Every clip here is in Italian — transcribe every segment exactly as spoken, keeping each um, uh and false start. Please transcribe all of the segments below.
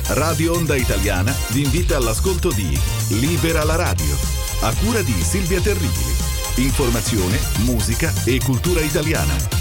Radio Onda Italiana vi invita all'ascolto di Libera la radio, a cura di Silvia Terribili. Informazione, musica e cultura italiana.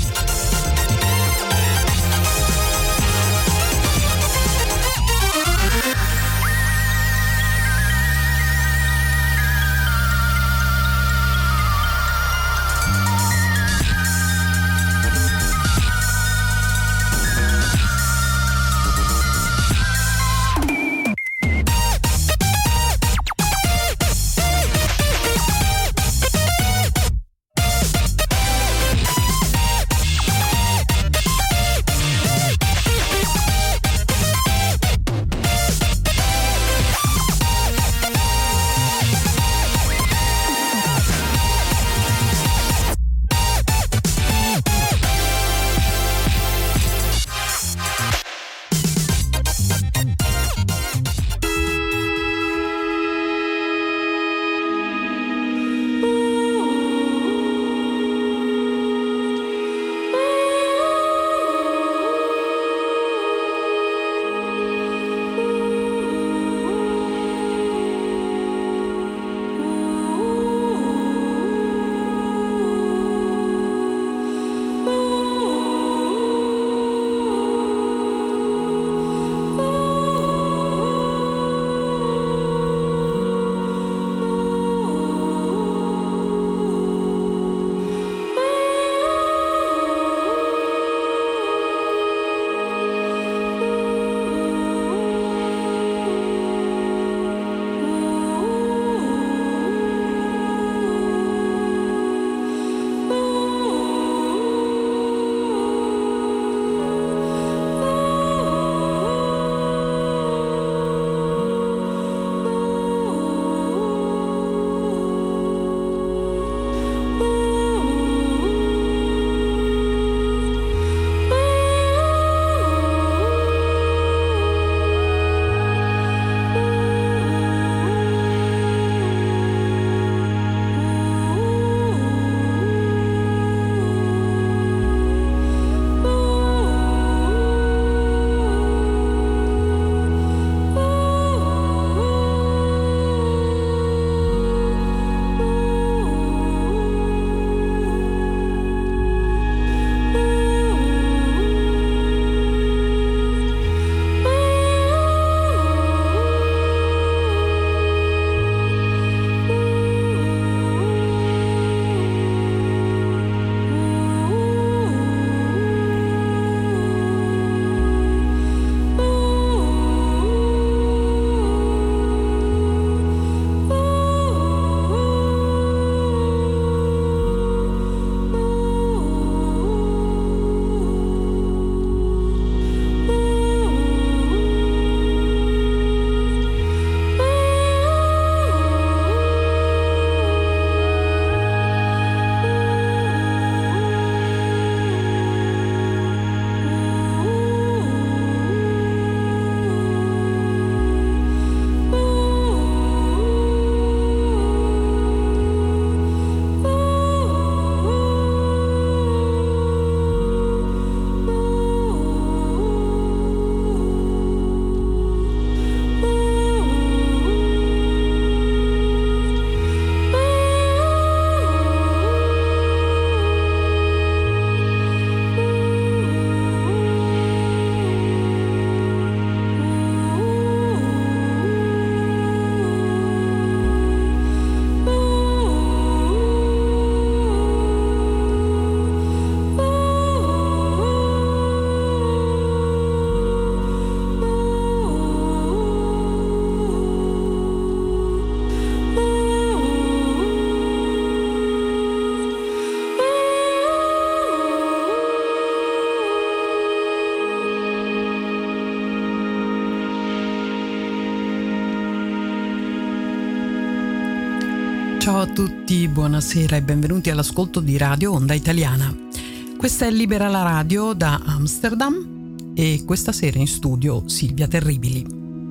Ciao a tutti, buonasera e benvenuti all'ascolto di Radio Onda Italiana. Questa è Libera la radio da Amsterdam e questa sera in studio Silvia Terribili.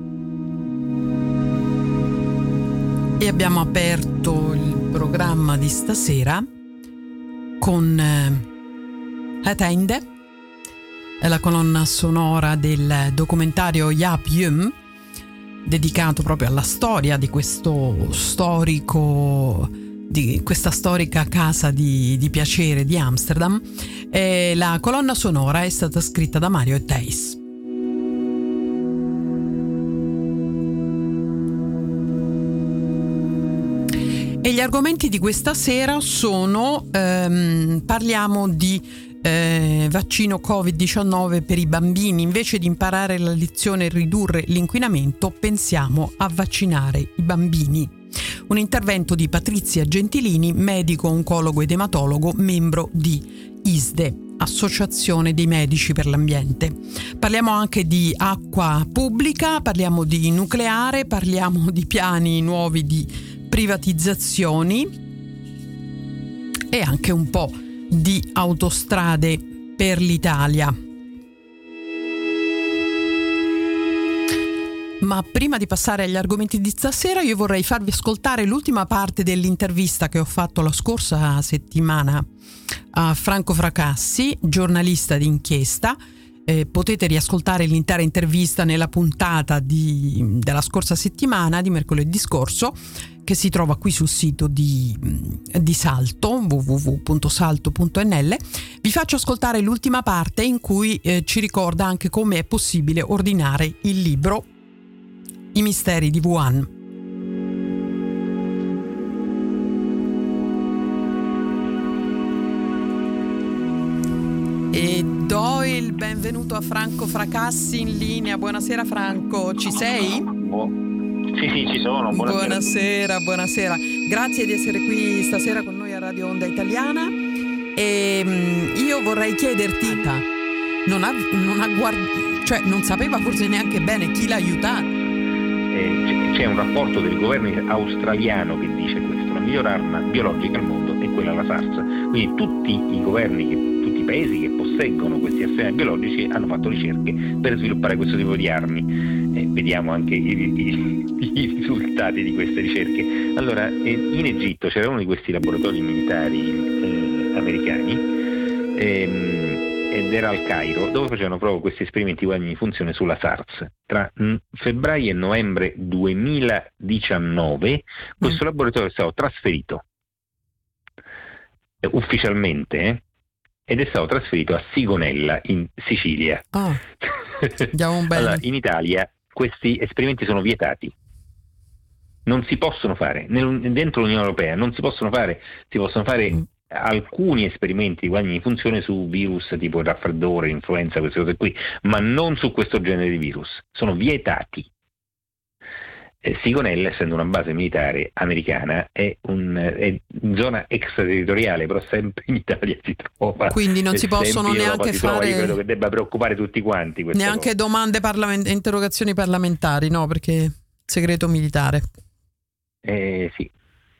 E abbiamo aperto il programma di stasera con Het Einde, è la colonna sonora del documentario Jaap Jum, dedicato proprio alla storia di questo storico, di questa storica casa di, di piacere di Amsterdam. E la colonna sonora è stata scritta da Mario Theis. E gli argomenti di questa sera sono, ehm, parliamo di eh, vaccino covid diciannove per i bambini. Invece di imparare la lezione e ridurre l'inquinamento, pensiamo a vaccinare i bambini. Un intervento di Patrizia Gentilini, medico, oncologo ed ematologo, membro di I S D E, Associazione dei Medici per l'Ambiente. Parliamo anche di acqua pubblica, parliamo di nucleare, parliamo di piani nuovi di privatizzazioni e anche un po' di autostrade per l'Italia. Ma prima di passare agli argomenti di stasera, io vorrei farvi ascoltare l'ultima parte dell'intervista che ho fatto la scorsa settimana a Franco Fracassi, giornalista d'inchiesta. Eh, potete riascoltare l'intera intervista nella puntata di, della scorsa settimana, di mercoledì scorso, che si trova qui sul sito di, di Salto, w w w punto salto punto n l. Vi faccio ascoltare l'ultima parte in cui eh, ci ricorda anche come è possibile ordinare il libro I misteri di Wuhan. E do il benvenuto a Franco Fracassi in linea. Buonasera Franco, ci sei? Bu- sì, sì, ci sono. Buonasera. Buonasera, buonasera. Grazie di essere qui stasera con noi a Radio Onda Italiana. E um, io vorrei chiederti, non ha, non ha guard- cioè non sapeva forse neanche bene chi l'ha aiutato. Eh, c'è un rapporto del governo australiano che dice questo: la miglior arma biologica al mondo è quella alla SARS. Quindi tutti i governi, che, tutti i paesi che posseggono questi arsenali biologici hanno fatto ricerche per sviluppare questo tipo di armi. Eh, vediamo anche i, i, i risultati di queste ricerche. Allora, eh, in Egitto c'era uno di questi laboratori militari eh, americani ehm, ed era al Cairo, dove facevano proprio questi esperimenti di funzione sulla SARS. Tra mh, febbraio e novembre duemiladiciannove questo mm. laboratorio è stato trasferito eh, ufficialmente eh, ed è stato trasferito a Sigonella in Sicilia. Oh. Andiamo bene. Allora, in Italia questi esperimenti sono vietati, non si possono fare nel, dentro l'Unione Europea, non si possono fare, si possono fare mm. alcuni esperimenti di guadagni di funzione su virus tipo il raffreddore, l'influenza, queste cose qui, ma non su questo genere di virus, sono vietati. Eh, Sigonella, essendo una base militare americana, è, un, è in zona extraterritoriale, però sempre in Italia si trova. Quindi non si possono neanche fare. Trova, io credo che debba preoccupare tutti quanti. Neanche cosa. Domande parlament- interrogazioni parlamentari, no? Perché segreto militare. Eh sì.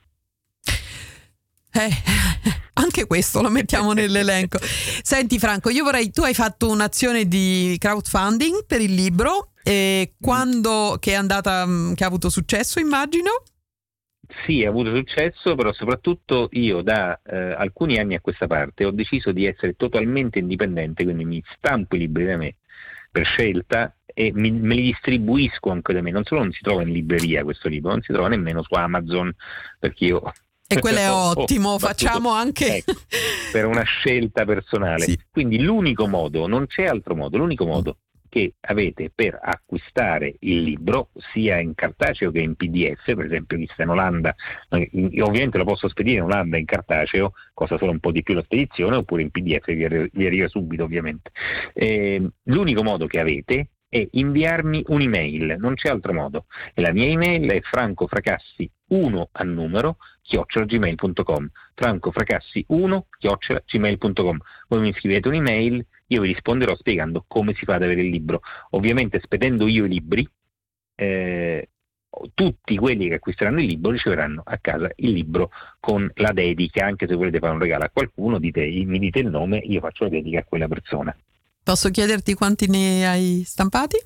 Eh, anche questo lo mettiamo nell'elenco. Senti Franco, io vorrei, tu hai fatto un'azione di crowdfunding per il libro, e quando che è andata, che ha avuto successo, immagino? Sì, ha avuto successo, però soprattutto io da eh, alcuni anni a questa parte ho deciso di essere totalmente indipendente, quindi mi stampo i libri da me per scelta e mi, me li distribuisco anche da me. Non solo non si trova in libreria questo libro, non si trova nemmeno su Amazon, perché io... E quello è oh, ottimo, oh, facciamo anche... Ecco, per una scelta personale. Sì. Quindi l'unico modo, non c'è altro modo, l'unico modo che avete per acquistare il libro, sia in cartaceo che in P D F, per esempio chi sta in Olanda, ovviamente lo posso spedire in Olanda in cartaceo, costa solo un po' di più la spedizione, oppure in P D F vi arriva subito ovviamente. Eh, l'unico modo che avete è inviarmi un'email, non c'è altro modo, e la mia email è francofracassi uno a numero chiocciola gmail punto com, francofracassi uno chiocciola gmail punto com. Voi mi scrivete un'email, io vi risponderò spiegando come si fa ad avere il libro. Ovviamente spedendo io i libri, eh, tutti quelli che acquisteranno il libro riceveranno a casa il libro con la dedica. Anche se volete fare un regalo a qualcuno, dite, mi dite il nome, io faccio la dedica a quella persona. Posso chiederti quanti ne hai stampati?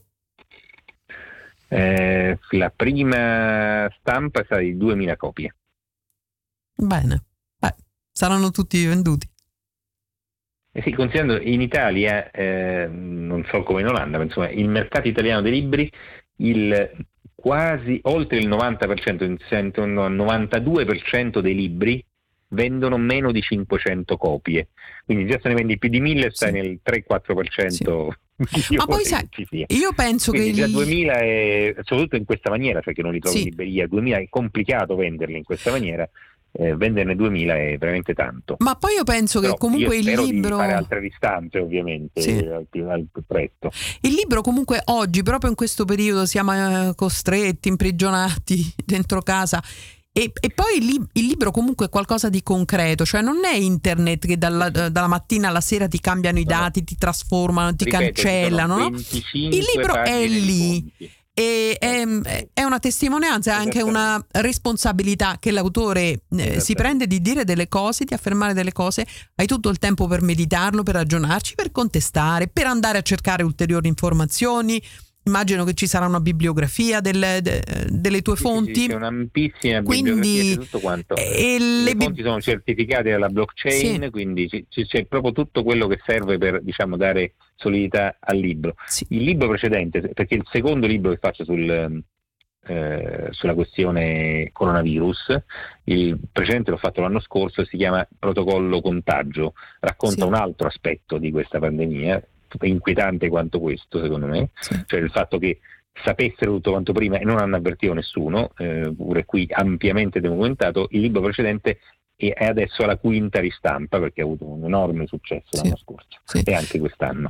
Eh, la prima stampa è stata di duemila copie. Bene, beh, saranno tutti venduti. Eh sì, considerando in Italia, eh, non so come in Olanda, ma insomma il mercato italiano dei libri, il quasi oltre il novanta per cento, il novantadue per cento dei libri vendono meno di cinquecento copie, quindi già se ne vendi più di mille, stai sì. nel tre quattro per cento. Sì. Ma poi sai, io penso quindi che già gli... duemila è, soprattutto in questa maniera, cioè che non li trovi sì. in libreria, duemila è complicato venderli in questa maniera. Eh, venderne duemila è veramente tanto. Ma poi io penso Però che comunque io il libro di fare altre distanze, ovviamente, sì. al, più, al più presto. Il libro comunque oggi, proprio in questo periodo, siamo costretti, imprigionati dentro casa. E, e poi il, li- il libro comunque è qualcosa di concreto, cioè non è internet che dalla, dalla mattina alla sera ti cambiano i dati, no. ti trasformano, ti Ripeto, cancellano, no? Il libro è lì. E è, è una testimonianza, è anche una responsabilità che l'autore eh, si prende di dire delle cose, di affermare delle cose. Hai tutto il tempo per meditarlo, per ragionarci, per contestare, per andare a cercare ulteriori informazioni. Immagino che ci sarà una bibliografia delle, de, delle tue sì, fonti. Sì, c'è un'ampissima quindi, bibliografia di tutto quanto. E le, le fonti sono certificate dalla blockchain, sì. quindi c- c- c'è proprio tutto quello che serve per, diciamo, dare solidità al libro. Sì. Il libro precedente, perché il secondo libro che faccio sul, eh, sulla questione coronavirus, il precedente l'ho fatto l'anno scorso, si chiama Protocollo Contagio, racconta sì. un altro aspetto di questa pandemia, inquietante quanto questo, secondo me, sì. cioè il fatto che sapessero tutto quanto prima e non hanno avvertito nessuno, eh, pure qui ampiamente documentato. Il libro precedente è adesso alla quinta ristampa, perché ha avuto un enorme successo sì. l'anno scorso sì. e anche quest'anno.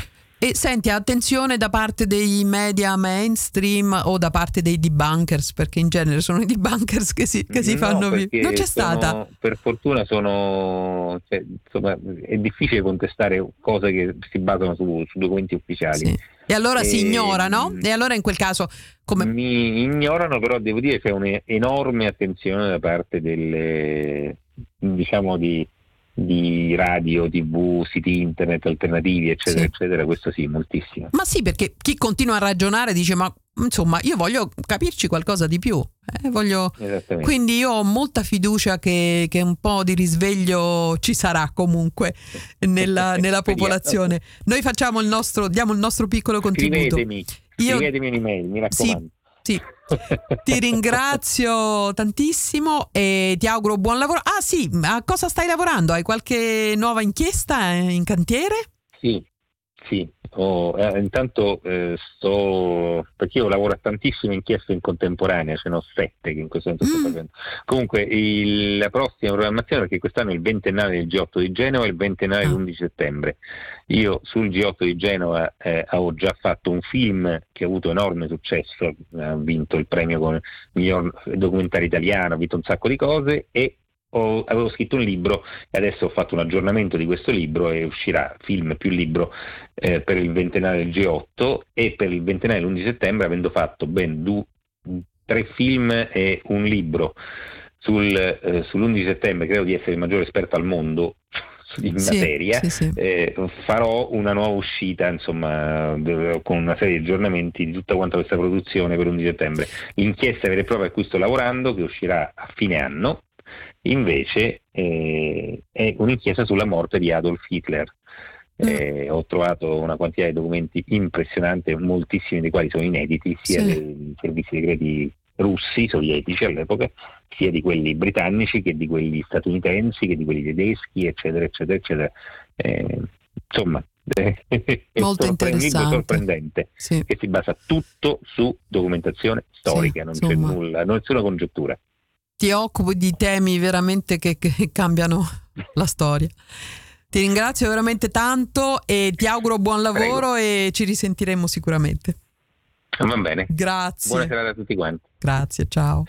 E senti, attenzione da parte dei media mainstream o da parte dei debunkers, perché in genere sono i debunkers che si, che si no, fanno via. Non c'è sono, stata? Per fortuna sono, cioè, insomma, è difficile contestare cose che si basano su, su documenti ufficiali. Sì. E allora e, si ignorano? E allora in quel caso come... Mi ignorano, però devo dire che c'è un'enorme attenzione da parte delle, diciamo, di di radio, tv, siti internet alternativi, eccetera, sì. eccetera, questo sì, moltissimo. Ma sì, perché chi continua a ragionare dice, ma insomma, io voglio capirci qualcosa di più, eh, voglio... quindi io ho molta fiducia che, che un po' di risveglio ci sarà comunque nella, nella popolazione. Noi facciamo il nostro, diamo il nostro piccolo contributo. Scrivetemi, scrivetemi io... un'email, mi raccomando. Sì. Sì, ti ringrazio tantissimo e ti auguro buon lavoro. Ah sì, a cosa stai lavorando? Hai qualche nuova inchiesta in cantiere? Sì, sì. Oh, eh, intanto eh, sto, perché io lavoro a tantissime inchieste in contemporanea, ce ne ho sette che in questo momento mm. sto facendo. Comunque il, la prossima programmazione, perché quest'anno è il ventennale del G otto di Genova e il ventennale ah. dell'undici settembre. Io sul G otto di Genova eh, ho già fatto un film che ha avuto enorme successo, ha vinto il premio come miglior documentario italiano, ha vinto un sacco di cose e Ho, avevo scritto un libro e adesso ho fatto un aggiornamento di questo libro e uscirà film più libro eh, per il ventennale del G otto e per il ventennale dell'undici settembre, avendo fatto ben du, tre film e un libro sul, eh, sull'undici settembre. Credo di essere il maggiore esperto al mondo in sì, materia, sì, sì. Eh, farò una nuova uscita, insomma, con una serie di aggiornamenti di tutta quanta questa produzione per l'undici settembre. L'inchiesta vera e propria a cui sto lavorando, che uscirà a fine anno, invece eh, è un'inchiesta sulla morte di Adolf Hitler. Eh, ho trovato una quantità di documenti impressionante, moltissimi dei quali sono inediti, sia sì. dei servizi segreti russi, sovietici all'epoca, sia di quelli britannici che di quelli statunitensi, che di quelli tedeschi, eccetera, eccetera, eccetera. Eh, insomma, molto è un libro sorprendente sì. che si basa tutto su documentazione storica, sì, non insomma. C'è nulla, non c'è una congettura. Ti occupi di temi veramente che, che cambiano la storia. Ti ringrazio veramente tanto e ti auguro buon lavoro. Prego. E ci risentiremo sicuramente. Va bene. Grazie. Buona serata a tutti quanti. Grazie, ciao.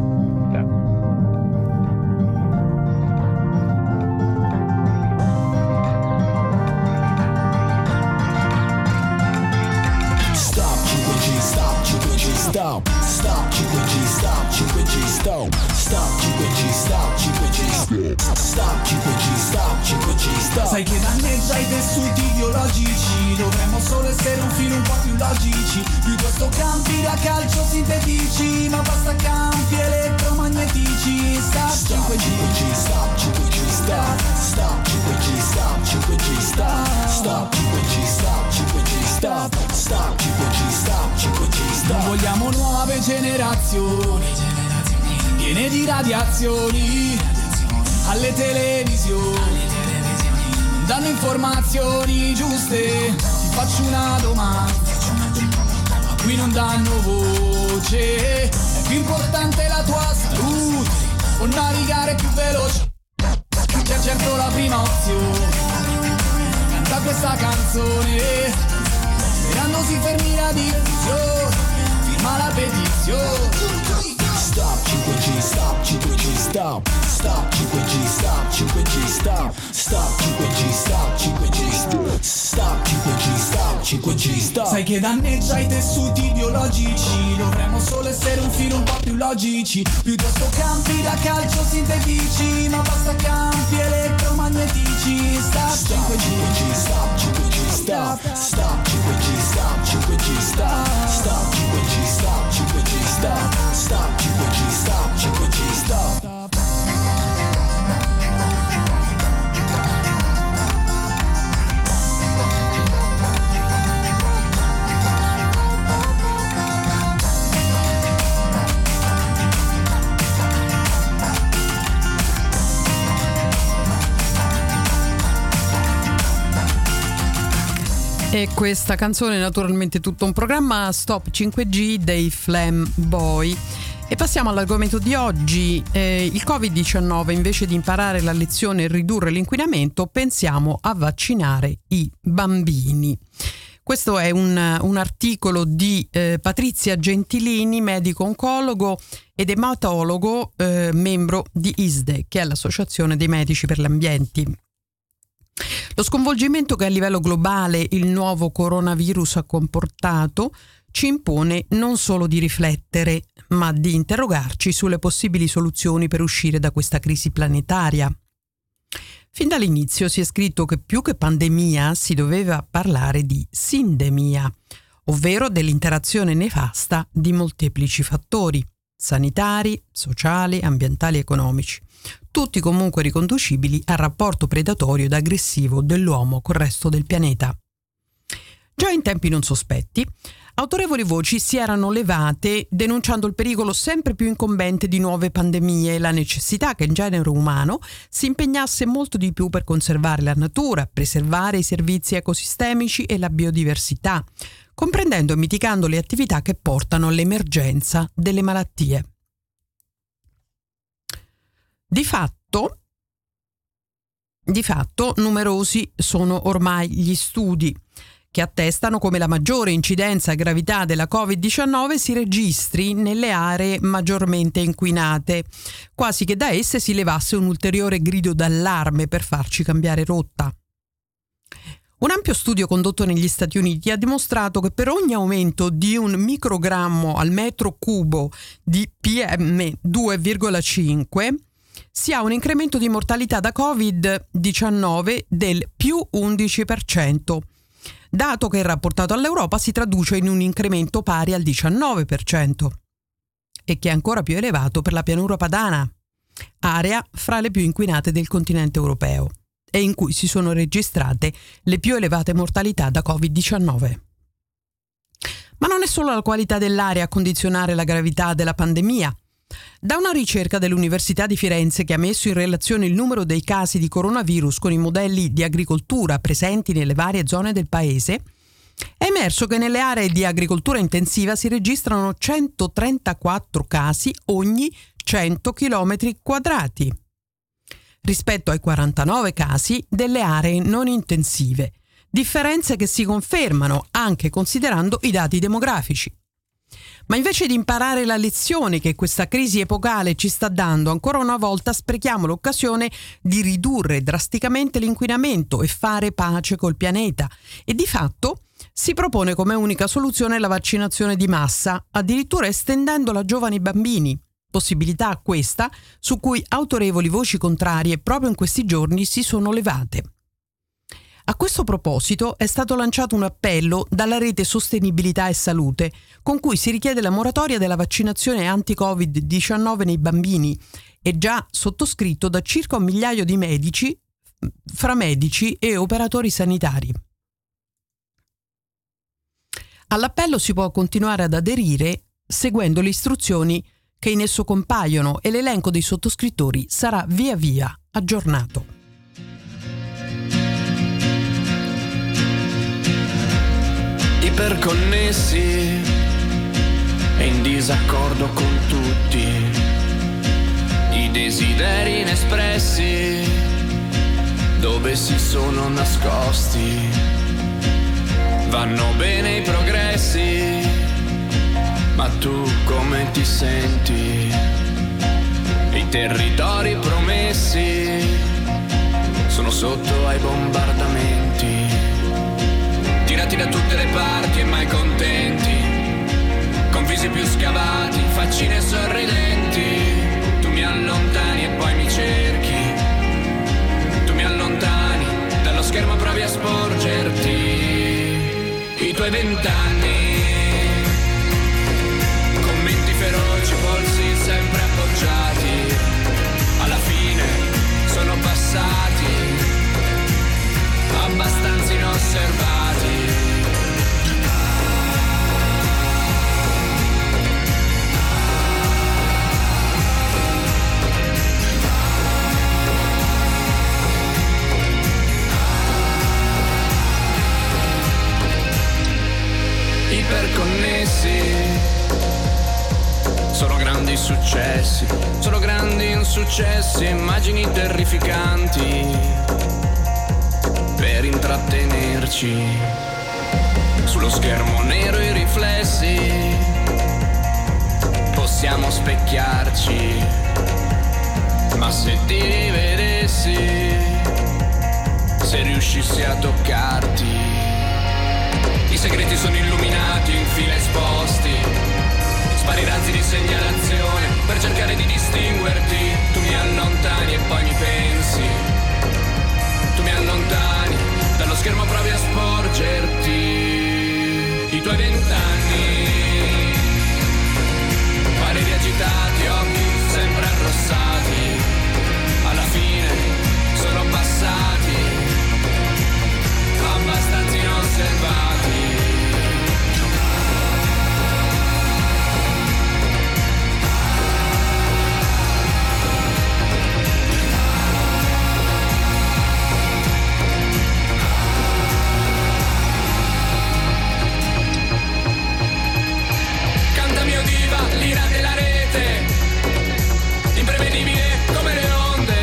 Stop, stop, cinque G, stop, cinque G, stop, stop, cinque G, stop, cinque G, stop, stop, cinque G, stop, cinque G, stop. Sai che danneggia i tessuti biologici, dovremmo solo essere un filo un po' più logici, piuttosto campi da calcio sintetici, ma basta campi elettromagnetici. Stop, cinque G, stop, cinque G, stop, stop, cinque G, stop, cinque G, stop, stop, cinque G, stop, cinque G, stop, stop. stop, cinque G, stop, cinque G, stop. Non vogliamo nuove generazioni piene di radiazioni alle televisioni, non danno informazioni giuste. Ti faccio una domanda, a cui non danno voce. È più importante la tua salute o navigare più veloce? C'è certo la prima opzione, canta questa canzone, sperando si fermi la diffusione, firma la petizione. Stop, cinque G, stop, cinque G, stop. Stop, cinque G, stop, cinque G, stop. Stop, cinque G, stop, cinque G, stop. Stop, cinque G, stop, cinque G, stop. Sai che danneggia i tessuti biologici, dovremmo solo essere un filo un po' più logici. Piuttosto campi da calcio sintetici, ma basta campi elettromagnetici. Stop, cinque G, stop, cinque G, stop. Stop, cinque G, stop, cinque G, stop. Stop, cinque G, stop, cinque G, stop. Stop, cinque G, stop, cinque G, stop. E questa canzone è naturalmente tutto un programma, Stop cinque G dei Flam Boy. E passiamo all'argomento di oggi. Eh, il covid diciannove, invece di imparare la lezione e ridurre l'inquinamento, pensiamo a vaccinare i bambini. Questo è un, un articolo di eh, Patrizia Gentilini, medico oncologo ed ematologo, eh, membro di I S D E, che è l'Associazione dei Medici per l'Ambiente. Lo sconvolgimento che a livello globale il nuovo coronavirus ha comportato ci impone non solo di riflettere, ma di interrogarci sulle possibili soluzioni per uscire da questa crisi planetaria. Fin dall'inizio si è scritto che più che pandemia si doveva parlare di sindemia, ovvero dell'interazione nefasta di molteplici fattori, sanitari, sociali, ambientali e economici, tutti comunque riconducibili al rapporto predatorio ed aggressivo dell'uomo col resto del pianeta. Già in tempi non sospetti, autorevoli voci si erano levate denunciando il pericolo sempre più incombente di nuove pandemie e la necessità che il genere umano si impegnasse molto di più per conservare la natura, preservare i servizi ecosistemici e la biodiversità, comprendendo e mitigando le attività che portano all'emergenza delle malattie. Di fatto, di fatto, numerosi sono ormai gli studi che attestano come la maggiore incidenza e gravità della covid diciannove si registri nelle aree maggiormente inquinate, quasi che da esse si levasse un ulteriore grido d'allarme per farci cambiare rotta. Un ampio studio condotto negli Stati Uniti ha dimostrato che per ogni aumento di un microgrammo al metro cubo di P M due virgola cinque si ha un incremento di mortalità da covid diciannove del più undici per cento, dato che rapportato all'Europa si traduce in un incremento pari al diciannove per cento e che è ancora più elevato per la pianura padana, area fra le più inquinate del continente europeo e in cui si sono registrate le più elevate mortalità da covid diciannove. Ma non è solo la qualità dell'aria a condizionare la gravità della pandemia. Da una ricerca dell'Università di Firenze che ha messo in relazione il numero dei casi di coronavirus con i modelli di agricoltura presenti nelle varie zone del paese, è emerso che nelle aree di agricoltura intensiva si registrano centotrentaquattro casi ogni cento chilometri quadrati, rispetto ai quarantanove casi delle aree non intensive, differenze che si confermano anche considerando i dati demografici. Ma invece di imparare la lezione che questa crisi epocale ci sta dando, ancora una volta sprechiamo l'occasione di ridurre drasticamente l'inquinamento e fare pace col pianeta. E di fatto si propone come unica soluzione la vaccinazione di massa, addirittura estendendola a giovani bambini. Possibilità questa su cui autorevoli voci contrarie proprio in questi giorni si sono levate. A questo proposito è stato lanciato un appello dalla rete Sostenibilità e Salute, con cui si richiede la moratoria della vaccinazione anti-covid diciannove nei bambini, e già sottoscritto da circa un migliaio di medici, fra medici e operatori sanitari. All'appello si può continuare ad aderire seguendo le istruzioni che in esso compaiono e l'elenco dei sottoscrittori sarà via via aggiornato. Iperconnessi e in disaccordo con tutti i desideri inespressi dove si sono nascosti. Vanno bene i progressi, ma tu come ti senti? I territori promessi sono sotto ai bombardamenti, tirati da tutte le parti e mai contenti, con visi più scavati, faccine sorridenti. Tu mi allontani e poi mi cerchi, tu mi allontani dallo schermo, provi a sporgerti. I tuoi vent'anni, commenti feroci, polsi sempre appoggiati, alla fine sono passati abbastanza inosservati. Iperconnessi sono grandi successi, sono grandi insuccessi, immagini terrificanti per intrattenerci. Sullo schermo nero i riflessi, possiamo specchiarci, ma se ti rivedessi, se riuscissi a toccarti. I segreti sono illuminati, in fila esposti, spari razzi di segnalazione per cercare di distinguerti. Tu mi allontani e poi mi pensi, tu mi allontani dallo schermo, provi a sporgerti. I tuoi vent'anni, pareri agitati, occhi sempre arrossati, alla fine sono passati abbastanza inosservati. L'ira della rete, imprevedibile come le onde.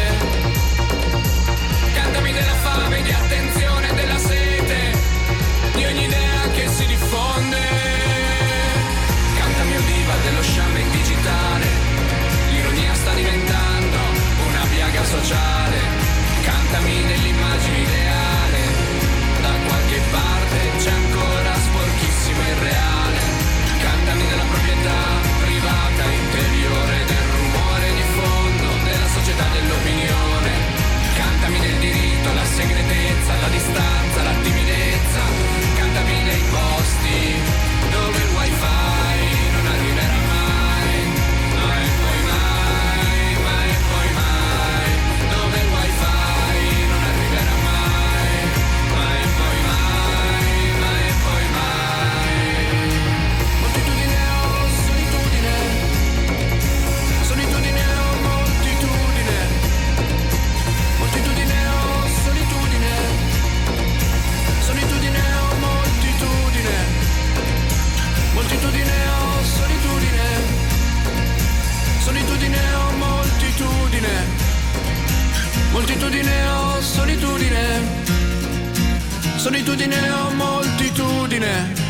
Cantami della fame, di attenzione, della sete, di ogni idea che si diffonde. Cantami Udiva dello sciame digitale, l'ironia sta diventando una piaga sociale. Cantami dell'immagine ideale, da qualche parte c'è ancora sporchissimo il reale. Cantami della proprietà privata interiore, del rumore di fondo, della società dell'opinione. Cantami del diritto, la segretezza, la distanza, la timidezza. Cantami dei posti dove il wifi non arriverà mai, mai e poi mai, mai e poi mai. Dove il wifi non arriverà mai, mai e poi mai, mai e poi mai. Moltitudine o solitudine, solitudine o moltitudine, moltitudine o solitudine, solitudine o moltitudine, moltitudine o solitudine, solitudine o moltitudine, moltitudine o solitudine, solitudine o moltitudine.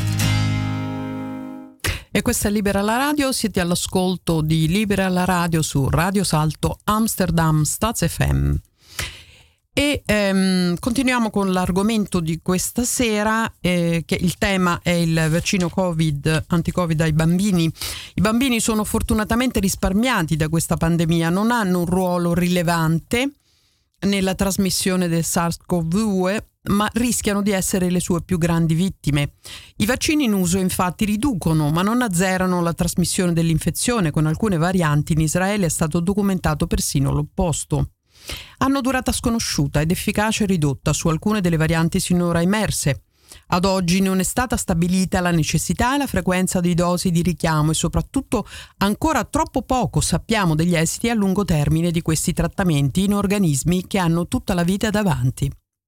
E questa è Libera la Radio, siete all'ascolto di Libera la Radio su Radio Salto Amsterdam Staz F M. E ehm, continuiamo con l'argomento di questa sera, eh, che il tema è il vaccino Covid, anti-Covid ai bambini. I bambini sono fortunatamente risparmiati da questa pandemia, non hanno un ruolo rilevante nella trasmissione del SARS-CoV due, ma rischiano di essere le sue più grandi vittime. I vaccini in uso infatti riducono, ma non azzerano la trasmissione dell'infezione. Con alcune varianti in Israele è stato documentato persino l'opposto. Hanno durata sconosciuta ed efficacia ridotta su alcune delle varianti sinora emerse. Ad oggi non è stata stabilita la necessità e la frequenza di dosi di richiamo e soprattutto ancora troppo poco sappiamo degli esiti a lungo termine di questi trattamenti in organismi che hanno tutta la vita davanti.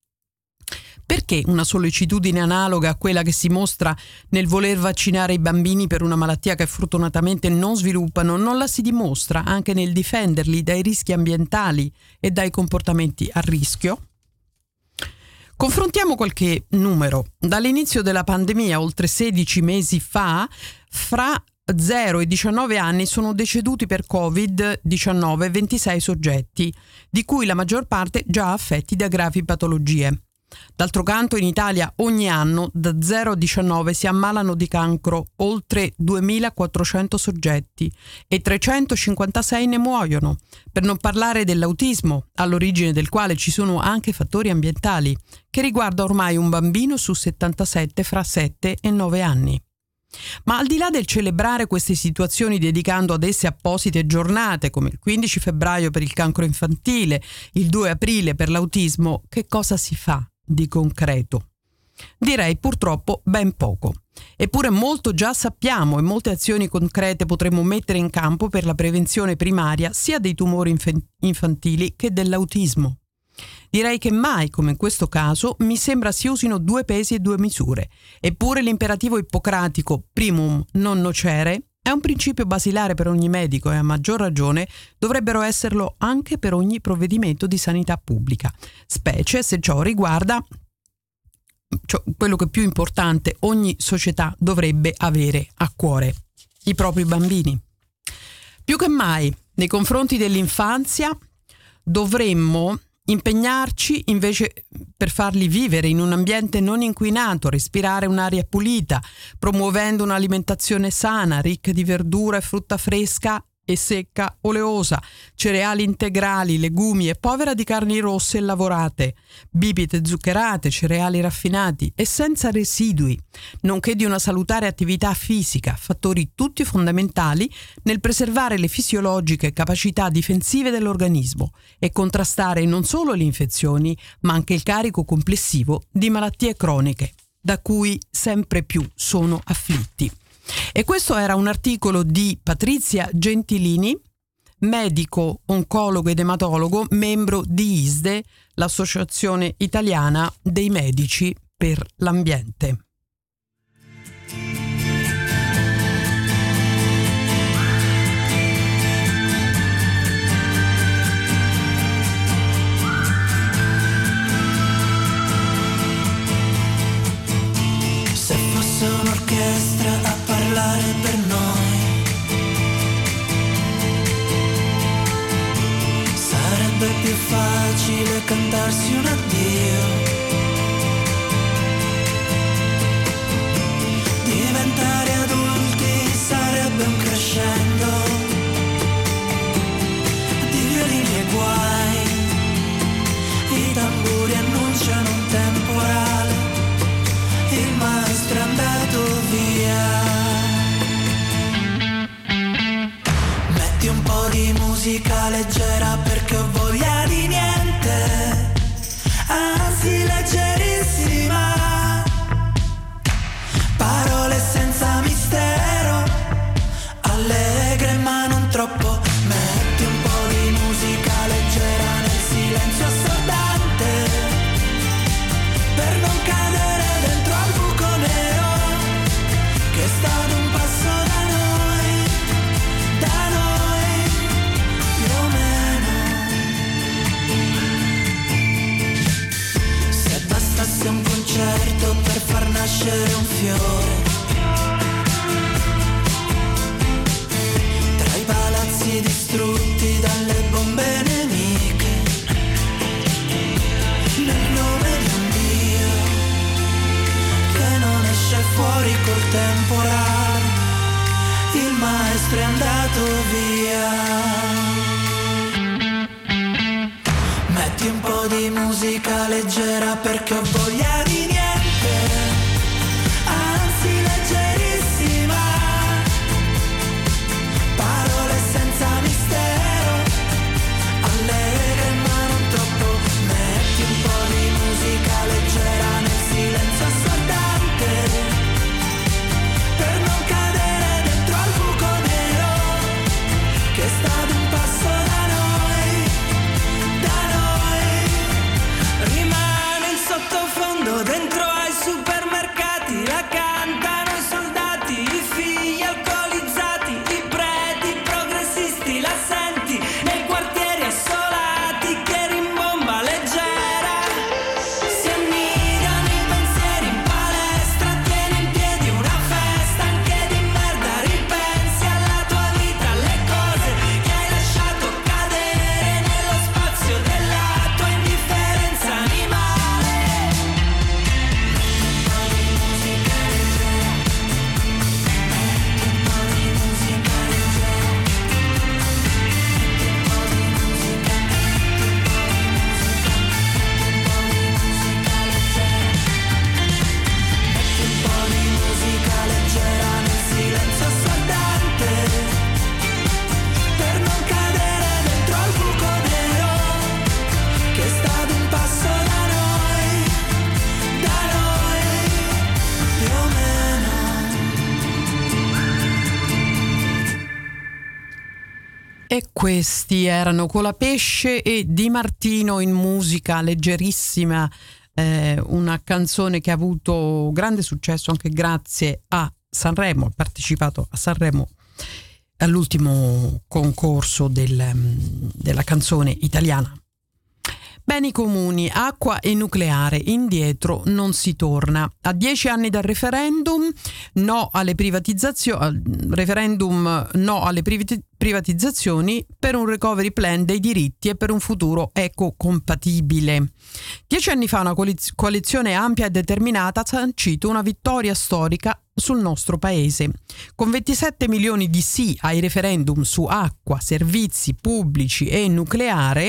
Perché una sollecitudine analoga a quella che si mostra nel voler vaccinare i bambini per una malattia che fortunatamente non sviluppano non la si dimostra anche nel difenderli dai rischi ambientali e dai comportamenti a rischio? Confrontiamo qualche numero. Dall'inizio della pandemia, oltre sedici mesi fa, fra zero e diciannove anni sono deceduti per covid diciannove ventisei soggetti, di cui la maggior parte già affetti da gravi patologie. D'altro canto in Italia ogni anno da zero a diciannove si ammalano di cancro oltre duemilaquattrocento soggetti e trecentocinquantasei ne muoiono, per non parlare dell'autismo, all'origine del quale ci sono anche fattori ambientali, che riguarda ormai un bambino su settantasette fra sette e nove anni. Ma al di là del celebrare queste situazioni dedicando ad esse apposite giornate come il quindici febbraio per il cancro infantile, il due aprile per l'autismo, che cosa si fa di concreto? Direi purtroppo ben poco. Eppure molto già sappiamo e molte azioni concrete potremmo mettere in campo per la prevenzione primaria sia dei tumori inf- infantili che dell'autismo. Direi che mai, come in questo caso, mi sembra si usino due pesi e due misure. Eppure l'imperativo ippocratico primum non nocere è un principio basilare per ogni medico e a maggior ragione dovrebbero esserlo anche per ogni provvedimento di sanità pubblica, specie se ciò riguarda cioè, quello che è più importante ogni società dovrebbe avere a cuore, i propri bambini. Più che mai, nei confronti dell'infanzia, dovremmo impegnarci invece per farli vivere in un ambiente non inquinato, respirare un'aria pulita, promuovendo un'alimentazione sana, ricca di verdura e frutta fresca e secca oleosa, cereali integrali, legumi e povera di carni rosse e lavorate, bibite zuccherate, cereali raffinati e senza residui, nonché di una salutare attività fisica, fattori tutti fondamentali nel preservare le fisiologiche capacità difensive dell'organismo e contrastare non solo le infezioni, ma anche il carico complessivo di malattie croniche, da cui sempre più sono afflitti. E questo era un articolo di Patrizia Gentilini, medico, oncologo ed ematologo, membro di I S D E, l'Associazione Italiana dei Medici per l'Ambiente. Se fosse un'orchestra a parlare per noi, sarebbe più facile cantarsi un addio, diventare adulti sarebbe un crescendo di violini e guai, i tamburi annunciano un temporale, il maestro è andato via. Metti un po' di musica leggera perché ho voglia di niente, anzi leggerissima, parole senza mistero, allegre ma non troppo. Metti un po' di musica leggera nel silenzio assordante, per non cadere dentro al buco nero che sta ad un passo da noi, da noi più o meno. Se bastasse un concerto per far nascere un fiore, tra i palazzi distrutti dalle bombe nemiche, nel nome di un Dio che non esce fuori col temporale, il maestro è andato via. Metti un po' di musica leggera perché ho voglia di niente, anzi leggerissima, parole senza mistero, allegre ma non troppo. Metti un po' di musica leggera nel silenzio assordante, E questi erano Colapesce e Di Martino in musica leggerissima, eh, una canzone che ha avuto grande successo anche grazie a Sanremo, ha partecipato a Sanremo all'ultimo concorso del, della canzone italiana. Beni comuni, acqua e nucleare, indietro non si torna. A dieci anni dal referendum, no alle privatizzazioni, referendum no alle privatizzazioni per un recovery plan dei diritti e per un futuro ecocompatibile. Dieci anni fa una coalizione ampia e determinata ha sancito una vittoria storica sul nostro paese. Con ventisette milioni di sì ai referendum su acqua, servizi pubblici e nucleare,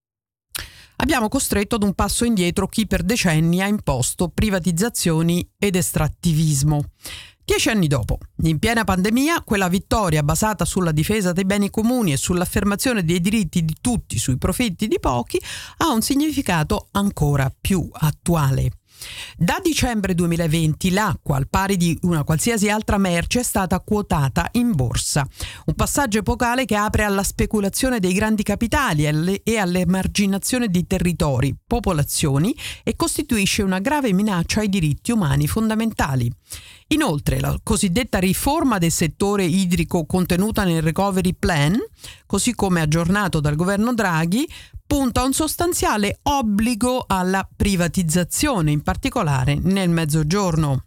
abbiamo costretto ad un passo indietro chi per decenni ha imposto privatizzazioni ed estrattivismo. Dieci anni dopo, in piena pandemia, quella vittoria basata sulla difesa dei beni comuni e sull'affermazione dei diritti di tutti sui profitti di pochi ha un significato ancora più attuale. Da dicembre duemilaventi l'acqua, al pari di una qualsiasi altra merce, è stata quotata in borsa. Un passaggio epocale che apre alla speculazione dei grandi capitali e all'emarginazione di territori, popolazioni e costituisce una grave minaccia ai diritti umani fondamentali. Inoltre, la cosiddetta riforma del settore idrico contenuta nel Recovery Plan, così come aggiornato dal governo Draghi, punta a un sostanziale obbligo alla privatizzazione, in particolare nel Mezzogiorno.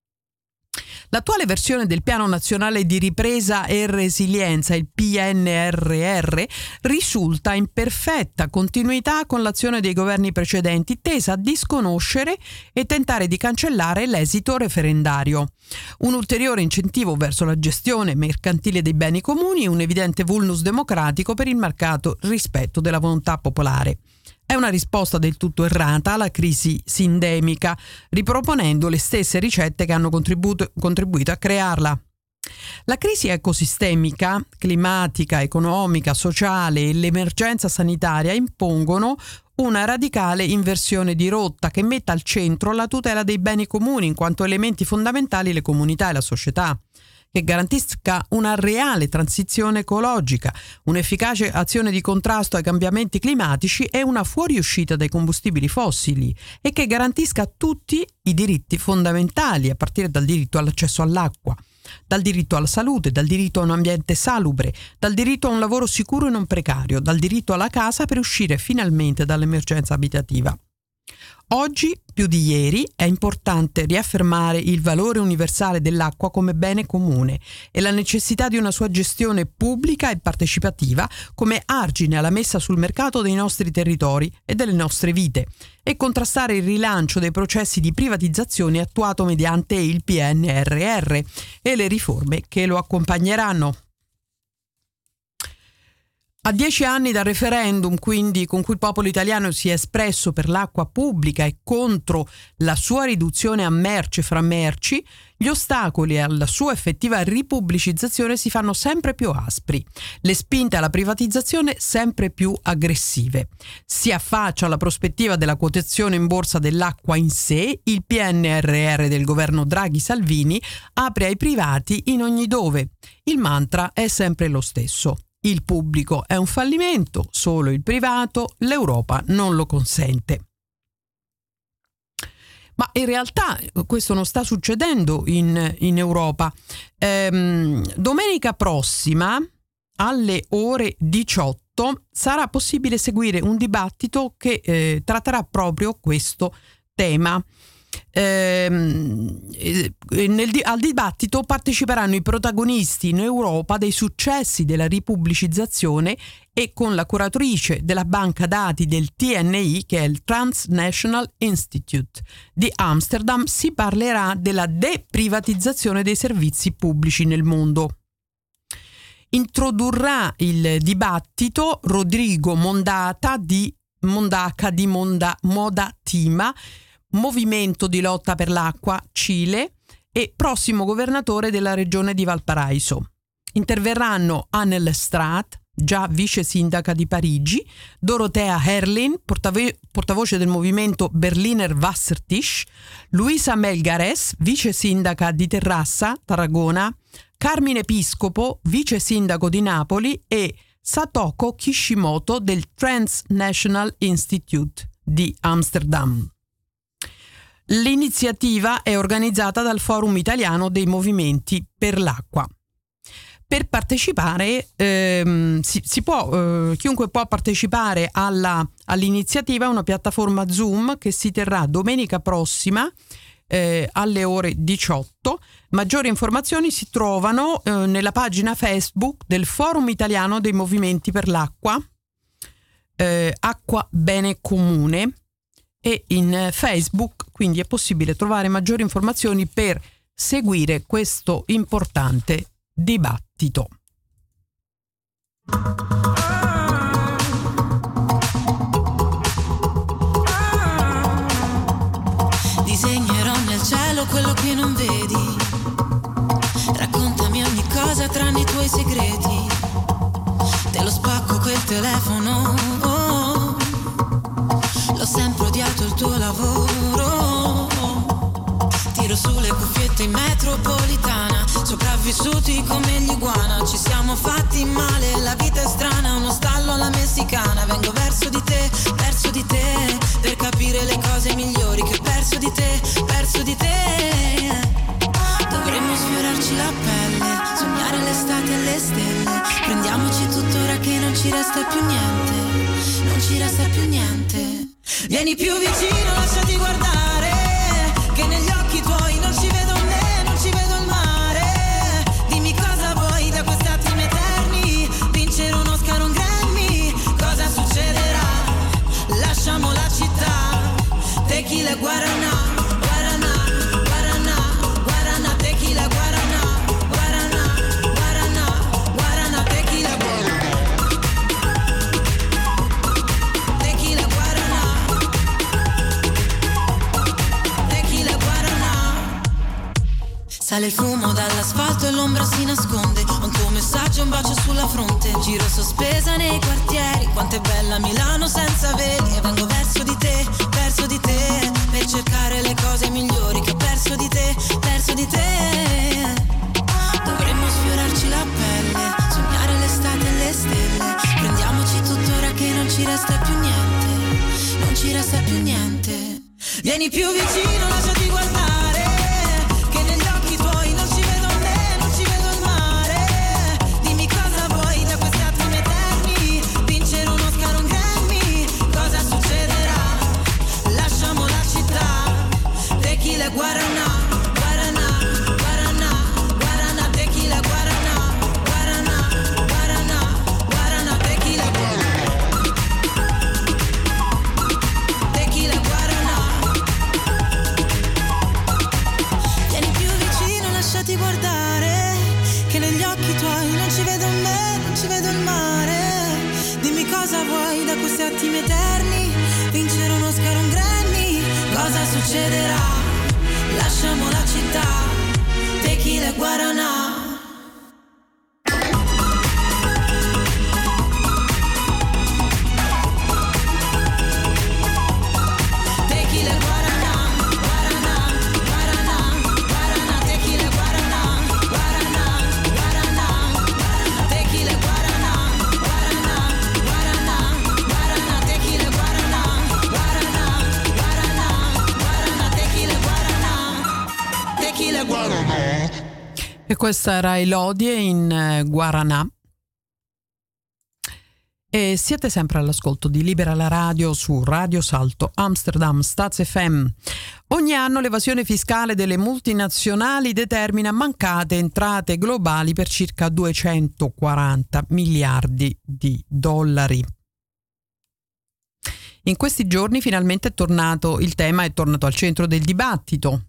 L'attuale versione del Piano Nazionale di Ripresa e Resilienza, il P N R R, risulta in perfetta continuità con l'azione dei governi precedenti, tesa a disconoscere e tentare di cancellare l'esito referendario. Un ulteriore incentivo verso la gestione mercantile dei beni comuni e un evidente vulnus democratico per il marcato rispetto della volontà popolare. È una risposta del tutto errata alla crisi sindemica, riproponendo le stesse ricette che hanno contribuito, contribuito a crearla. La crisi ecosistemica, climatica, economica, sociale e l'emergenza sanitaria impongono una radicale inversione di rotta che metta al centro la tutela dei beni comuni in quanto elementi fondamentali le comunità e la società, che garantisca una reale transizione ecologica, un'efficace azione di contrasto ai cambiamenti climatici e una fuoriuscita dai combustibili fossili e che garantisca tutti i diritti fondamentali, a partire dal diritto all'accesso all'acqua, dal diritto alla salute, dal diritto a un ambiente salubre, dal diritto a un lavoro sicuro e non precario, dal diritto alla casa per uscire finalmente dall'emergenza abitativa. Oggi, più di ieri, è importante riaffermare il valore universale dell'acqua come bene comune e la necessità di una sua gestione pubblica e partecipativa come argine alla messa sul mercato dei nostri territori e delle nostre vite e contrastare il rilancio dei processi di privatizzazione attuato mediante il P N R R e le riforme che lo accompagneranno. A dieci anni dal referendum, quindi, con cui il popolo italiano si è espresso per l'acqua pubblica e contro la sua riduzione a merce fra merci, gli ostacoli alla sua effettiva ripubblicizzazione si fanno sempre più aspri, le spinte alla privatizzazione sempre più aggressive. Si affaccia alla prospettiva della quotazione in borsa dell'acqua in sé, il P N R R del governo Draghi-Salvini apre ai privati in ogni dove. Il mantra è sempre lo stesso. Il pubblico è un fallimento, solo il privato, l'Europa non lo consente. Ma in realtà questo non sta succedendo in, in Europa. Ehm, domenica prossima, alle ore diciotto, sarà possibile seguire un dibattito che eh, tratterà proprio questo tema. Ehm, nel, al dibattito parteciperanno i protagonisti in Europa dei successi della ripubblicizzazione e con la curatrice della banca dati del T N I, che è il Transnational Institute di Amsterdam, si parlerà della deprivatizzazione dei servizi pubblici nel mondo. Introdurrà il dibattito Rodrigo Mondata di Mondaca di Monda, Modatima, Movimento di lotta per l'acqua, Cile, e prossimo governatore della regione di Valparaiso. Interverranno Annel Straat, già vice sindaca di Parigi, Dorothea Herrlin, portavo- portavoce del movimento Berliner Wassertisch, Luisa Melgares, vice sindaca di Terrassa, Tarragona, Carmine Piscopo, vice sindaco di Napoli, e Satoko Kishimoto del Transnational Institute di Amsterdam. L'iniziativa è organizzata dal Forum Italiano dei Movimenti per l'Acqua. Per partecipare, ehm, si, si può, eh, chiunque può partecipare alla, all'iniziativa, una piattaforma Zoom che si terrà domenica prossima eh, alle ore diciotto. Maggiori informazioni si trovano eh, nella pagina Facebook del Forum Italiano dei Movimenti per l'Acqua, eh, Acqua Bene Comune, e in Facebook, quindi è possibile trovare maggiori informazioni per seguire questo importante dibattito. Disegnerò nel cielo quello che non vedi. Raccontami ogni cosa tranne i tuoi segreti. Te lo spacco quel telefono. Oh, l'ho sempre odiato il tuo lavoro. Tiro sulle cuffiette in metropolitana, sopravvissuti come gli iguana. Ci siamo fatti male, la vita è strana, uno stallo alla messicana. Vengo verso di te, verso di te, per capire le cose migliori che ho perso di te, perso di te. Dovremmo sfiorarci la pelle, sognare l'estate e le stelle. Prendiamoci tuttora che non ci resta più niente, non ci resta più niente. Vieni più vicino, lasciati guardare, che negli occhi tuoi non ci vedo me, non ci vedo il mare. Dimmi cosa vuoi da questi attimi eterni, vincere un Oscar, un Grammy, cosa succederà? Lasciamo la città, tequila guaraná, guaraná, guaraná, guaraná, tequila guaraná, guaraná, guaraná, guaraná, tequila guaraná, tequila guaraná, tequila guaraná. Sale il fumo dall'asfalto e l'ombra si nasconde. Ho un tuo messaggio, un bacio sulla fronte. Giro sospesa nei quartieri. Quanto è bella Milano senza veli. E vengo verso di te, verso di te, per cercare le cose migliori che ho perso di te, perso di te. Dovremmo sfiorarci la pelle, sognare l'estate e le stelle. Prendiamoci tuttora che non ci resta più niente, non ci resta più niente. Vieni più vicino, lasciati guardare, che negli occhi tuoi non ci vedo me, non ci vedo il mare. Dimmi cosa vuoi da questi attimi eterni, vincere un Oscar, un Grammy, cosa succederà? Lasciamo la città, tequila guaraná, guaraná, guaraná, guaraná, tequila guaraná, guaraná, guaraná, guaraná, tequila guaraná, tequila guaraná. Vieni più vicino, lasciati guardare, che negli occhi tuoi non ci vedo me, non ci vedo il mare. Dimmi cosa vuoi da questi attimi eterni, vincere un Oscar, un Grammy, cosa succederà? Lasciamo la città, tequila guaraná. Tequila guaraná, guaraná, guaraná, guaraná, tequila guaraná, guaraná, guaraná, guaraná, tequila guaraná, guaraná, guaraná, guaraná, tequila guaraná, guaraná, guaraná, guaraná, tequila guaraná, tequila guaraná. E questa era Elodie in eh, Guaraná. E siete sempre all'ascolto di Libera la Radio su Radio Salto Amsterdam Staz F M. Ogni anno l'evasione fiscale delle multinazionali determina mancate entrate globali per circa duecentoquaranta miliardi di dollari. In questi giorni finalmente è tornato il tema, è tornato al centro del dibattito.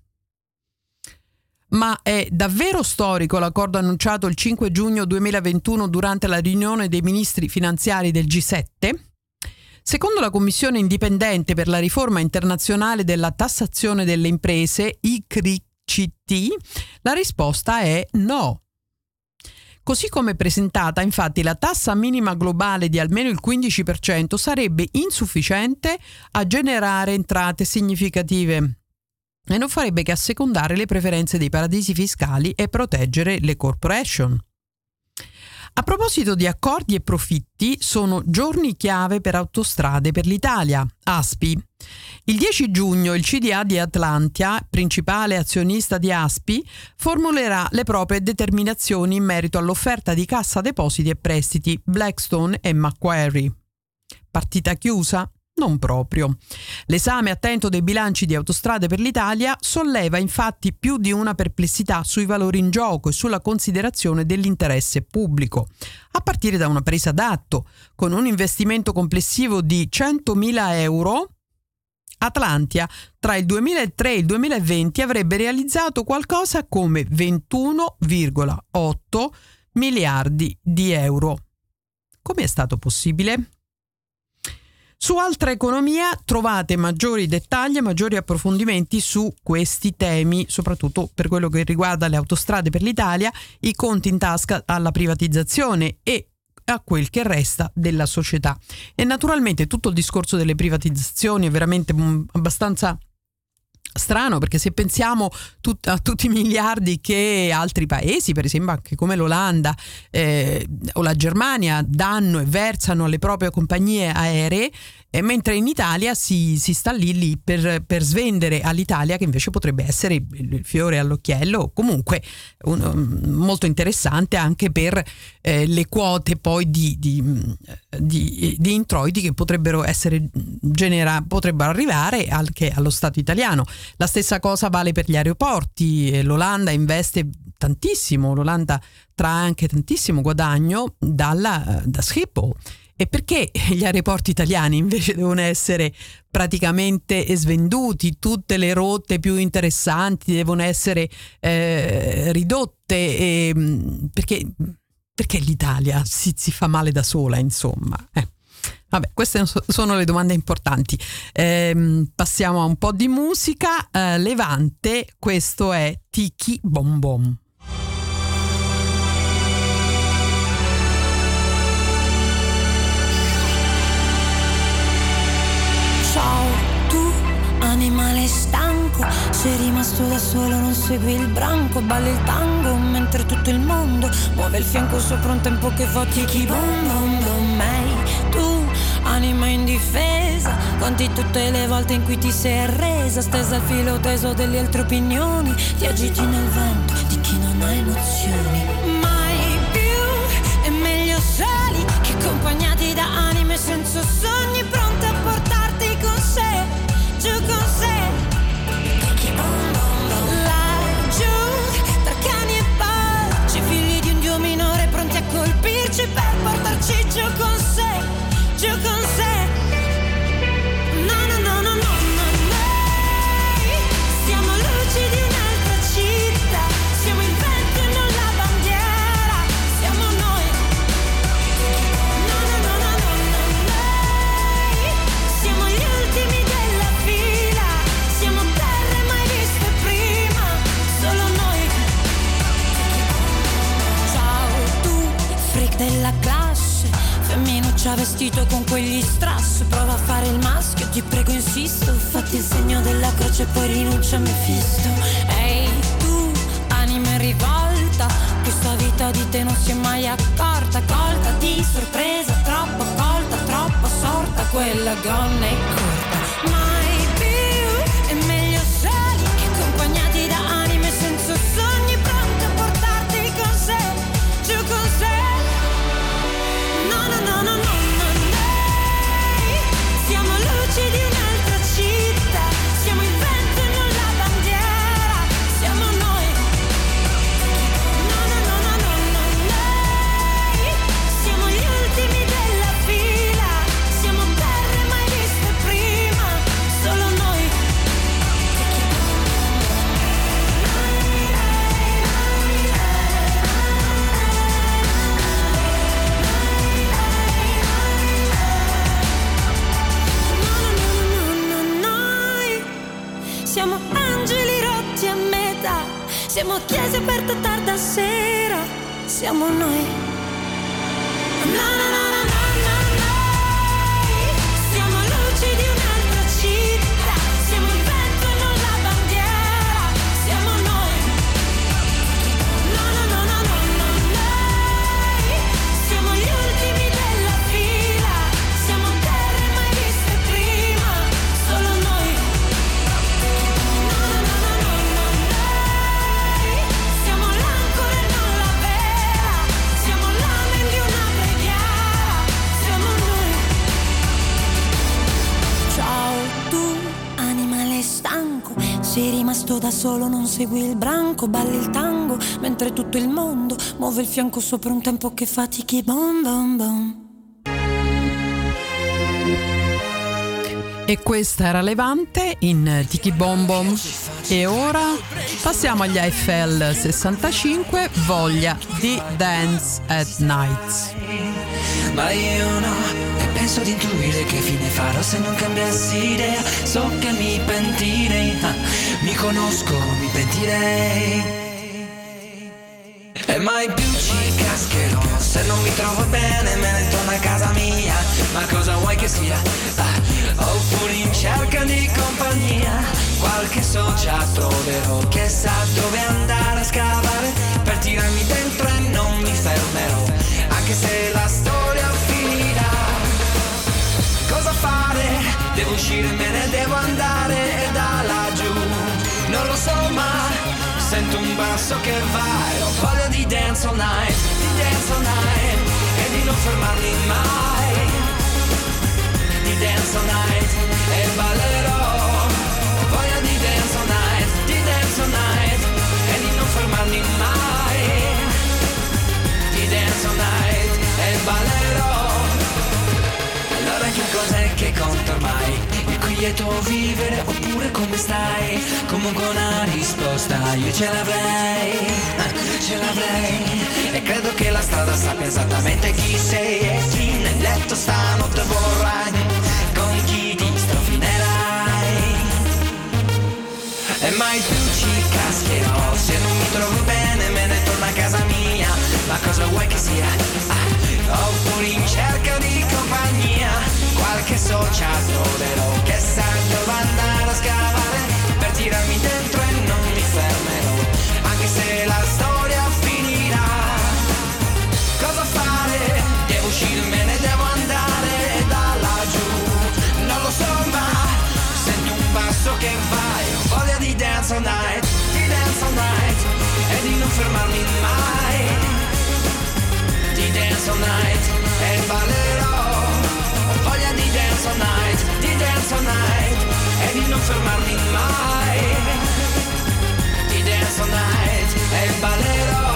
Ma è davvero storico l'accordo annunciato il cinque giugno duemilaventuno durante la riunione dei ministri finanziari del G sette? Secondo la Commissione indipendente per la riforma internazionale della tassazione delle imprese, I C R I C T, la risposta è no. Così come presentata, infatti, la tassa minima globale di almeno il quindici per cento sarebbe insufficiente a generare entrate significative e non farebbe che assecondare le preferenze dei paradisi fiscali e proteggere le corporation. A proposito di accordi e profitti, sono giorni chiave per Autostrade per l'Italia, A S P I. Il dieci giugno il C D A di Atlantia, principale azionista di A S P I, formulerà le proprie determinazioni in merito all'offerta di Cassa Depositi e Prestiti, Blackstone e Macquarie. Partita chiusa? Non proprio. L'esame attento dei bilanci di Autostrade per l'Italia solleva infatti più di una perplessità sui valori in gioco e sulla considerazione dell'interesse pubblico, a partire da una presa d'atto. Con un investimento complessivo di centomila euro, Atlantia tra il duemilatré e il duemilaventi avrebbe realizzato qualcosa come ventuno virgola otto miliardi di euro. Come è stato possibile? Su Altra Economia trovate maggiori dettagli e maggiori approfondimenti su questi temi, soprattutto per quello che riguarda le Autostrade per l'Italia, i conti in tasca alla privatizzazione e a quel che resta della società. E naturalmente tutto il discorso delle privatizzazioni è veramente mh, abbastanza strano, perché se pensiamo tut- a tutti i miliardi che altri paesi, per esempio anche come l'Olanda eh, o la Germania, danno e versano alle proprie compagnie aeree, eh, mentre in Italia si, si sta lì lì per, per svendere all'Italia, che invece potrebbe essere il fiore all'occhiello, comunque un, molto interessante anche per eh, le quote poi di, di, di, di introiti che potrebbero essere genera, potrebbero arrivare anche allo Stato italiano. La stessa cosa vale per gli aeroporti. L'Olanda investe tantissimo, l'Olanda trae anche tantissimo guadagno dalla, da Schiphol. E perché gli aeroporti italiani invece devono essere praticamente svenduti, tutte le rotte più interessanti devono essere eh, ridotte? E, perché, perché l'Italia si, si fa male da sola, insomma? Eh. Vabbè, queste sono le domande importanti. Eh, passiamo a un po' di musica. Eh, Levante, questo è Tiki Bom Bom. Ciao, tu animale stanco, sei rimasto da solo, non segui il branco, balli il tango mentre tutto il mondo muove il fianco sopra un tempo che fa tiki bom bom bom. Ehi, tu anima indifesa, conti tutte le volte in cui ti sei arresa, stesa al filo teso delle altre opinioni, ti agiti nel vento di chi non ha emozioni. Mai più è meglio soli che accompagnati da anime senza sogni, pronte a portarti con sé, giù con sé. Laggiù tra cani e porci, figli di un dio minore pronti a colpirci per portarci giù con sé, giù con sé. No, no, no, no, no, no, noi siamo luci di un'altra città, siamo il vento e non la bandiera, siamo noi. No, no, no, no, no, no, noi siamo gli ultimi della fila, siamo terre mai viste prima, solo noi. Ciao tu, freak della classe, femminuccia vestito con quegli strass, prova a fare il maschio, ti prego insisto, fatti il segno della croce e poi rinuncia a Mefisto. Ehi tu, anima in rivolta, questa vita di te non si è mai accorta, colta di sorpresa, troppo colta, troppo sorta, quella gonna è corta. Mai più è meglio soli che accompagnati da anime senza sogni, pronti a portarti con sé, giù con sé. No, no, no, no, no, no, noi siamo luci di un'altra città, siamo il vento e non la bandiera, siamo noi. No, no, no, no, no, no, noi siamo gli ultimi della fila, siamo terre mai viste prima, solo noi. Siamo angeli rotti a metà, siamo chiese aperte tarda sera, siamo noi. No, no, no, no, no, no, noi siamo luci di un'altra città, siamo il vento e non la bandiera, siamo noi. No, no, no, no, no, no, noi da solo, non segui il branco, balli il tango, mentre tutto il mondo muove il fianco sopra un tempo che fatichi. Bom bom bom. E questa era Levante in Tiki Bom Bom. E ora passiamo agli Eiffel sessantacinque, Voglia di Dance at Night. Ma io no, e penso di intuire che fine farò se non cambiassi idea. So che mi pentirei, ah, mi conosco, mi pentirei. E mai più ci cascherò se non mi trovo bene, me ne torno a casa mia. Ma cosa vuoi che sia? Ah, oppure in cerca di compagnia, qualche socia troverò che sa dove andare a scavare per tirarmi dentro e non mi fermerò, anche se la storia finirà. Cosa fare? Devo uscire, me ne devo andare e da laggiù non lo so, ma sento un basso che va e ho voglia di dance all night, di dance all night e di non fermarmi mai, di dance all night e ballerò. Ho voglia di dance all night, di dance all night e di non fermarmi mai, di dance all night e ballerò. Allora che cos'è che conta ormai? Lieto vivere oppure come stai? Comunque una risposta io ce l'avrei, ce l'avrei. E credo che la strada sappia esattamente chi sei e chi nel letto stanotte vorrai, con chi ti strofinerai. E mai più ci cascherò se non mi trovo bene, me ne torno a casa mia. Ma cosa vuoi che sia? Ah, oppure in cerca di compagnia, qualche socia troverò che sa dove andare a scavare per tirarmi dentro e non mi fermerò, anche se la storia finirà. Cosa fare? Devo uscire, me ne devo andare da laggiù non lo so, ma sento un basso che va e ho voglia di dance all night, di dance all night e di non fermarmi mai, di dance all night e ballerò. Voglia di dance all night, di dance all night e di non fermarmi mai, di dance all night e ballerò.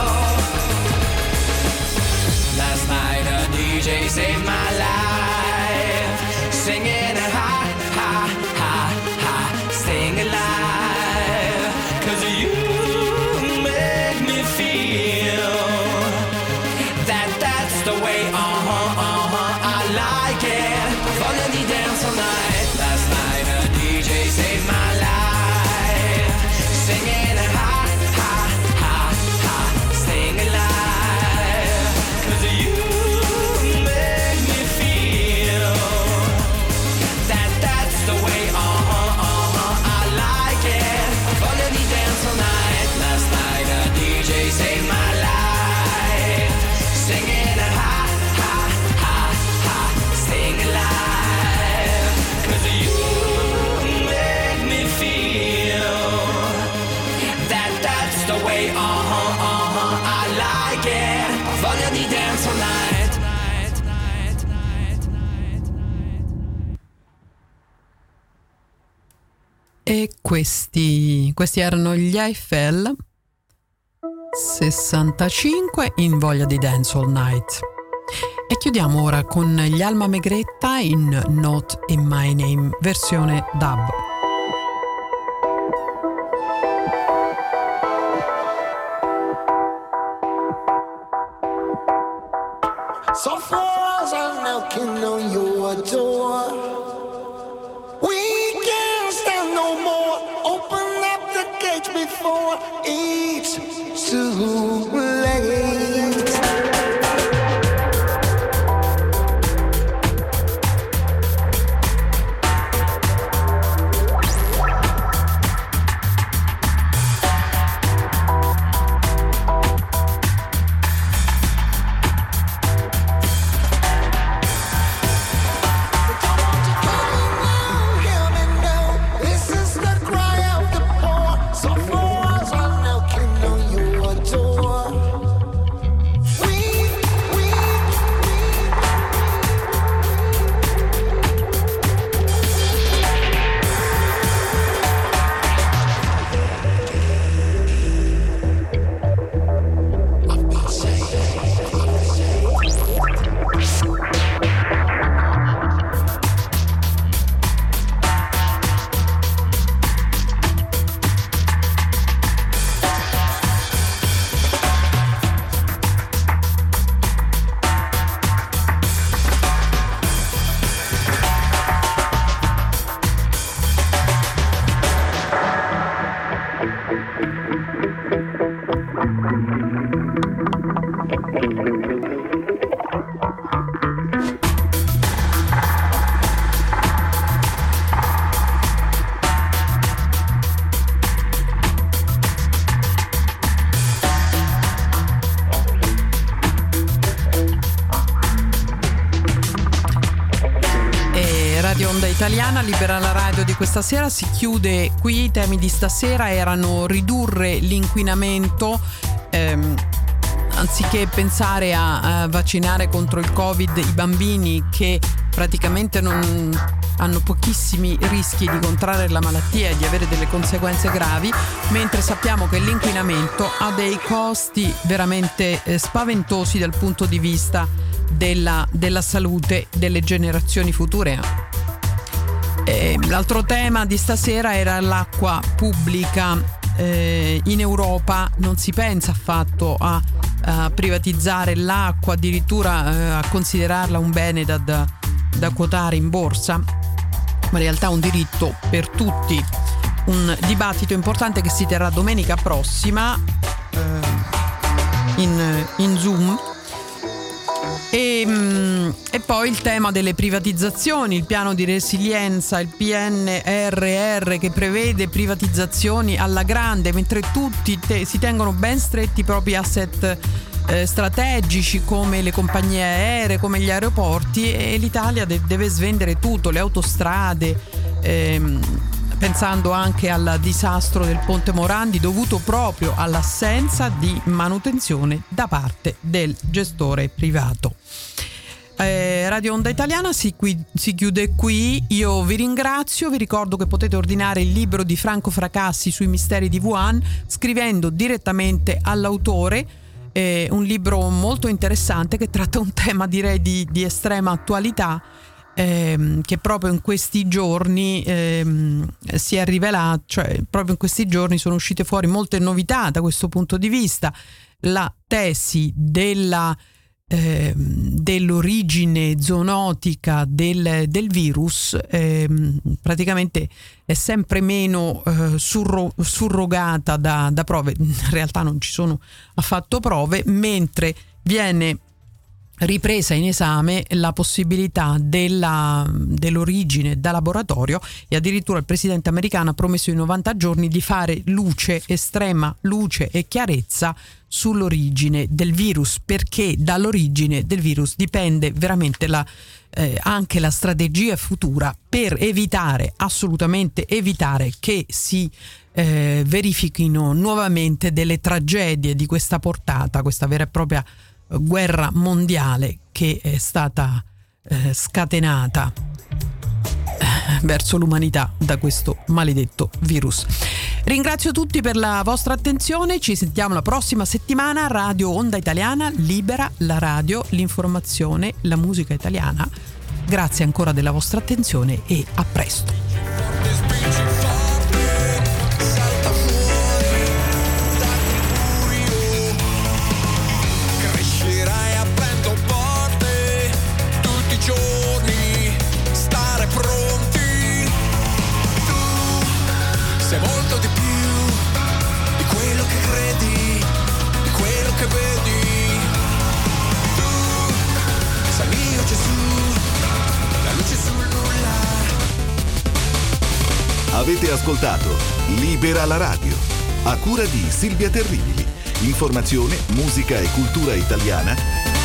Last night a D J saved my life, singing a ha ha ha ha, staying alive, 'cause you make me feel that that's the way, uh-huh, uh-huh, I like it. Voglia di dance all night. Last night a D J saved my life, singing a ha ha ha ha, staying alive, 'cause you make me feel that that's the way, uh-huh, uh-huh, I like it. Voglia di dance all night. Last night a D J saved my life, singing a ha ha ha ha, staying alive, 'cause you make me feel that that's the way, uh-huh, uh-huh, I like it. Voglia di dance all night. E questi, questi erano gli Eiffel sessantacinque in Voglia di Dance All Night. E chiudiamo ora con gli Alma Megretta in Not in My Name, versione dub. So far as I'm knocking on your door, we can't stand no more. Open up the gate before it's too late. Italiana, Libera la radio di questa sera si chiude qui. I temi di stasera erano ridurre l'inquinamento, ehm, anziché pensare a, a vaccinare contro il Covid i bambini che praticamente non hanno pochissimi rischi di contrarre la malattia e di avere delle conseguenze gravi, mentre sappiamo che l'inquinamento ha dei costi veramente eh, spaventosi dal punto di vista della, della salute delle generazioni future. Eh, l'altro tema di stasera era l'acqua pubblica. Eh, in Europa non si pensa affatto a, a privatizzare l'acqua, addirittura eh, a considerarla un bene da, da, da quotare in borsa, ma in realtà è un diritto per tutti. Un dibattito importante che si terrà domenica prossima eh, in, in Zoom. E, e poi il tema delle privatizzazioni, il piano di resilienza, il P N R R che prevede privatizzazioni alla grande, mentre tutti te, si tengono ben stretti i propri asset eh, strategici come le compagnie aeree, come gli aeroporti, e l'Italia de- deve svendere tutto, le autostrade, ehm, pensando anche al disastro del Ponte Morandi dovuto proprio all'assenza di manutenzione da parte del gestore privato. Eh, Radio Onda Italiana si, qui, si chiude qui. Io vi ringrazio, vi ricordo che potete ordinare il libro di Franco Fracassi sui misteri di Wuhan scrivendo direttamente all'autore. Eh, un libro molto interessante che tratta un tema direi di, di estrema attualità, ehm, che proprio in questi giorni ehm, si è rivelato, cioè proprio in questi giorni sono uscite fuori molte novità da questo punto di vista. La tesi della Eh, dell'origine zoonotica del, del virus eh, praticamente è sempre meno eh, surro, surrogata da, da prove. In realtà non ci sono affatto prove, mentre viene ripresa in esame la possibilità della, dell'origine da laboratorio, e addirittura il presidente americano ha promesso in novanta giorni di fare luce, estrema luce e chiarezza sull'origine del virus, perché dall'origine del virus dipende veramente la, eh, anche la strategia futura per evitare, assolutamente evitare che si eh, verifichino nuovamente delle tragedie di questa portata, questa vera e propria guerra mondiale che è stata eh, scatenata eh, verso l'umanità da questo maledetto virus. Ringrazio tutti per la vostra attenzione, ci sentiamo la prossima settimana. Radio Onda Italiana, libera la radio, l'informazione, la musica italiana. Grazie ancora della vostra attenzione e a presto. Sei molto di più di quello che credi, di quello che vedi. Tu sei mio Gesù, la luce sul nulla. Avete ascoltato Libera la radio, a cura di Silvia Terribili. Informazione, musica e cultura italiana